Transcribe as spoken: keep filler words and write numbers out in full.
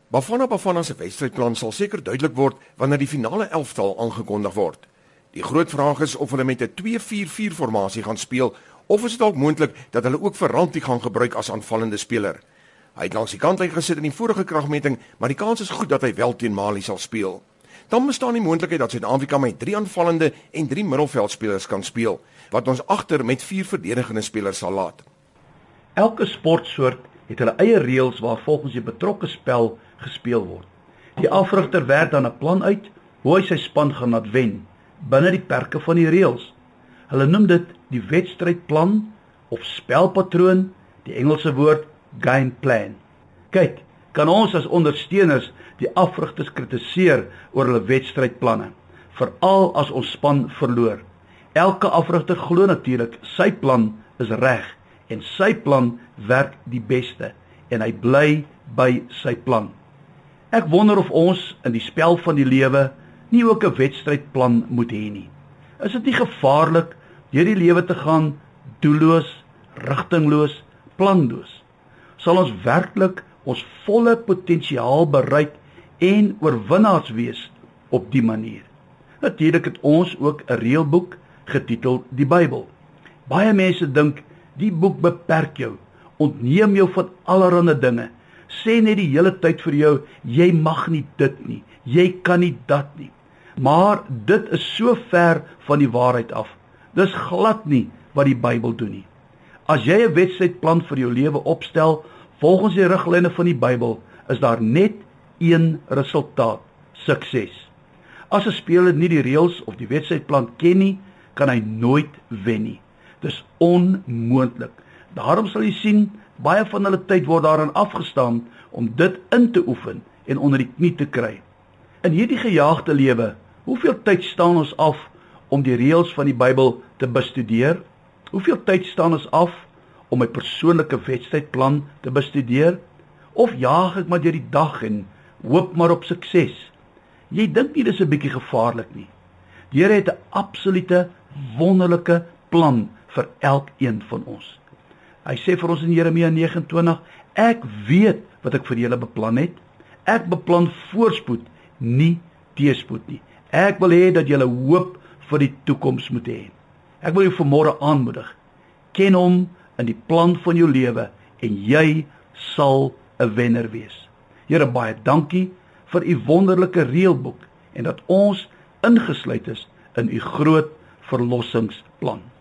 Bafana Bafana se wedstrydplan sal seker duidelik word wanneer die finale elftal aangekondig word. Die groot vraag is of hulle met 'n twee vier vier formasie gaan speel of is dit dalk moontlik dat hulle ook vir Rantie gaan gebruik as aanvallende speler. Hy het langs die kantlyn gesit in die vorige kragmeting, maar die kans is goed dat hy wel teen Mali sal speel. Dan bestaan die moontlikheid dat Suid-Afrika met drie aanvallende en drie middelveldspelers kan speel, wat ons agter met vier verdedigende spelers sal laat. Elke sportsoort het hulle eie reëls waar volgens die betrokke spel gespeel word. Die afrigter werk dan 'n plan uit hoe hy sy span gaan laat wen binne die perke van die reëls. Hulle noem dit die wedstrydplan of spelpatroon, die Engelse woord game plan. Kyk, kan ons as ondersteuners die afrigters kritiseer oor hulle wedstrydplanne, veral as ons span verloor. Elke afrigter glo natuurlik sy plan is reg en sy plan werk die beste en hy bly by sy plan. Ek wonder of ons in die spel van die lewe nie ook 'n wedstrydplan moet hê nie. Is dit nie gevaarlik deur die lewe te gaan doelloos, rigtingloos, planloos? Sal ons werklik ons volle potensiaal bereik en oorwinnaars wees op die manier? Natuurlik het ons ook 'n reëlboek getiteld die Bybel. Baie mense dink die boek beperk jou, ontneem jou van allerlei dinge, sê net die hele tyd vir jou, jy mag nie dit nie, jy kan nie dat nie. Maar dit is so ver van die waarheid af. Dis glad nie wat die Bybel doen nie. As jy 'n wedstrydplan vir jou lewe opstel, volgens die riglyne van die Bybel, is daar net een resultaat: sukses. As 'n speler nie die reëls of die wedstrydplan ken nie, kan hy nooit wen nie. Dis onmoontlik. Daarom sal jy sien, baie van hulle tyd word daaraan afgestaan om dit in te oefen en onder die knie te kry. In hierdie gejaagde lewe, hoeveel tyd staan ons af om die reëls van die Bybel te bestudeer? Hoeveel tyd staan ons af om my persoonlike wedstrydplan te bestudeer? Of jaag ek maar deur die dag en hoop maar op sukses? Jy dink nie dis 'n bietjie gevaarlik nie. Die Here het 'n absolute wonderlike plan vir elkeen van ons. Hy sê vir ons in Jeremia nege en twintig, ek weet wat ek vir julle beplan het. Ek beplan voorspoed, nie teëspoed nie. Ek wil hê dat julle hoop vir die toekoms moet hê. Ek wil jou vanmôre aanmoedig. Ken hom in die plan van jou lewe en jy sal 'n wenner wees. Here, baie dankie vir u wonderlike reëlboek en dat ons ingesluit is in u groot verlossingsplan.